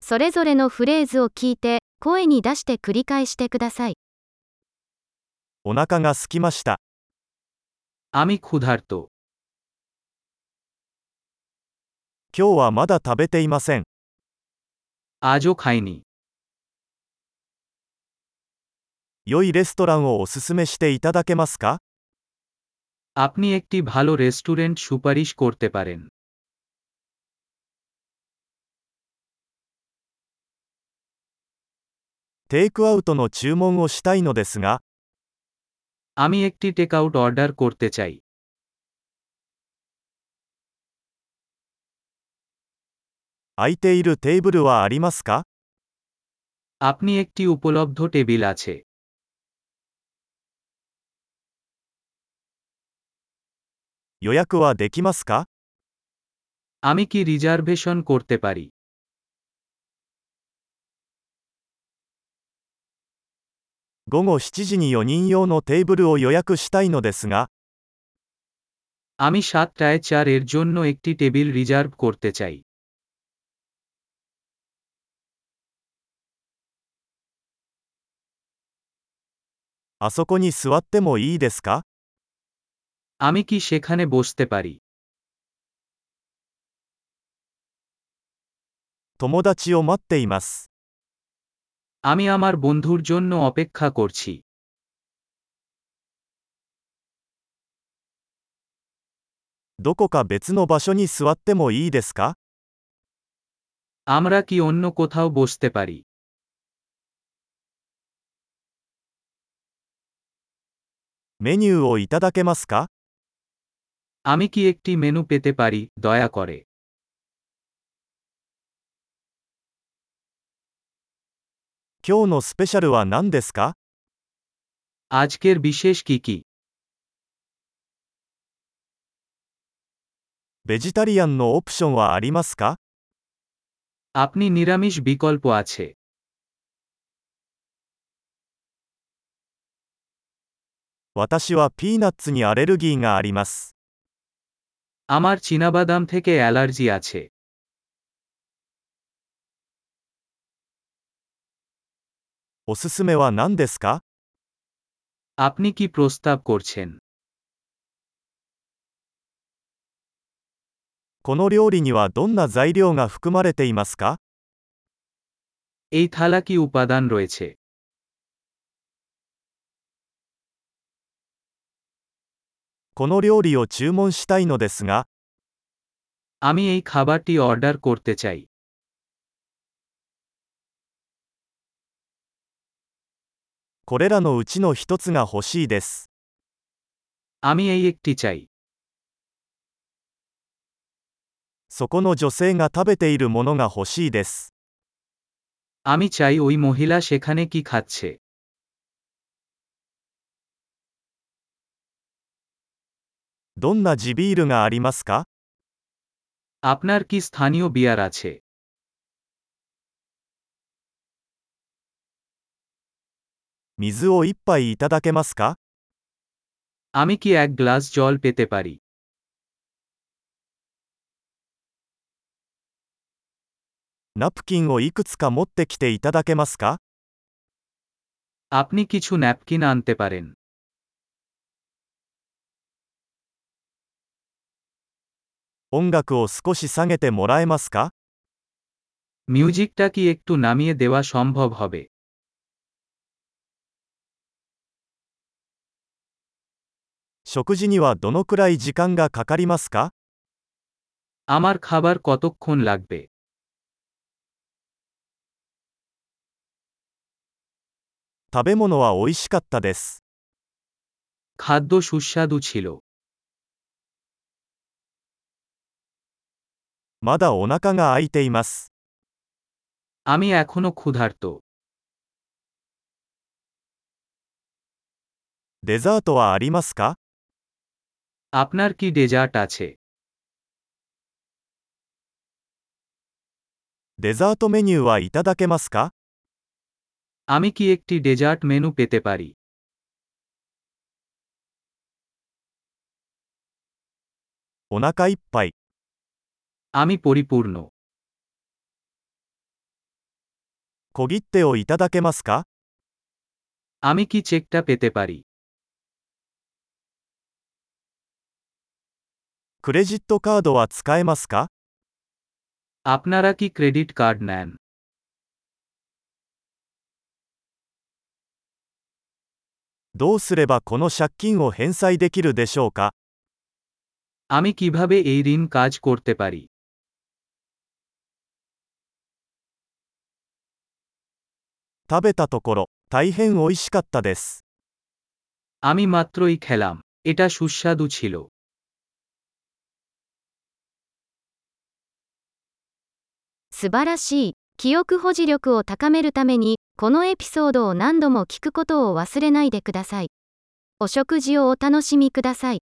それぞれのフレーズを聞いて、声に出して繰り返してください。 お腹が空きました。 আমি ক্ষুধার্ত। 今日はまだ食べていません。 আজও খাইনি। 良いレストランをおすすめしていただけますか？ আপনি একটি ভালো রেস্টুরেন্ট সুপারিশ করতে পারেন। テイクアウトの注文をしたいのですが、 আমি একটি টেকআউট অর্ডার করতে চাই। 空いているテーブルはありますか？ আপনি একটি উপলব্ধ টেবিল আছে। 予約はできますか？ আমি কি রিজার্ভেশন করতে পারি? 午後7時に4人用のテーブルを予約したいのですが、 আমি 7টায় 4 এর জন্য একটি টেবিল রিজার্ভ করতে চাই। あそこに座ってもいいですか？ আমি কি সেখানে বসতে পারি? 友達を待っています。 আমি আমার বন্ধুর জন্য অপেক্ষা করছি। どこか別の場所に座ってもいいですか？ আমরা কি অন্য কোথাও বসতে পারি? メニューをいただけますか？ আমি কি একটি মেনু পেতে পারি, দয়া করে? 今日のスペシャルは何ですか？ আজকের বিশেষ কি কি? ベジタリアンのオプションはありますか？ আপনি নিরামিষ বিকল্প আছে। 私はピーナッツにアレルギーがあります。 আমার চীনাবাদাম থেকে অ্যালার্জি আছে। おすすめは何ですか？ আপনি কি প্রস্তাব করছেন? この料理にはどんな材料が含まれていますか？ এই থালা কি উপাদান রয়েছে? この料理を注文したいのですが、 আমি এই খাবারটি অর্ডার করতে চাই। これらのうちの一つが欲しいです。 আমি এই একটি চাই। そこの女性が食べているものが欲しいです。 আমি চাই ওই মহিলা সেখানে কি খাচ্ছে। どんな地ビールがありますか？ আপনার কি স্থানীয় বিয়ার আছে? 水を一杯いただけますか？ আমি কি এক গ্লাস জল পেতে পারি? ナプキンをいくつか持ってきていただけますか？ আপনি কিছু ন্যাপকিন আনতে পারেন। 音楽を少し下げてもらえますか？ মিউজিকটা কি একটু নামিয়ে দেওয়া সম্ভব হবে? 食事にはどのくらい時間がかかりますか？ আমার খাবার কতক্ষণ লাগবে? 食べ物は美味しかったです。 খাদ্য সুস্বাদু ছিল। まだお腹が空いています。 আমি এখনো ক্ষুধার্ত। デザートはありますか？ আপনার কি ডেজার্ট আছে? デザートメニューはいただけますか？ আমি কি একটি ডেজার্ট মেনু পেতে পারি? お腹いっぱい。 আমি পরিপূর্ণ। 小切手をいただけますか？ আমি কি চেকটা পেতে পারি? クレジットカードは使えますか？ আপনারা কি ক্রেডিট কার্ড নেন? どうすればこの借金を返済できるでしょうか？ আমি কিভাবে এই ঋণ কাজ করতে পারি? 食べたところ、大変美味しかったです。 আমি মাত্রই খেলাম। এটা সুস্বাদু ছিল। 素晴らしい。記憶保持力を高めるために、このエピソードを何度も聞くことを忘れないでください。お食事をお楽しみください。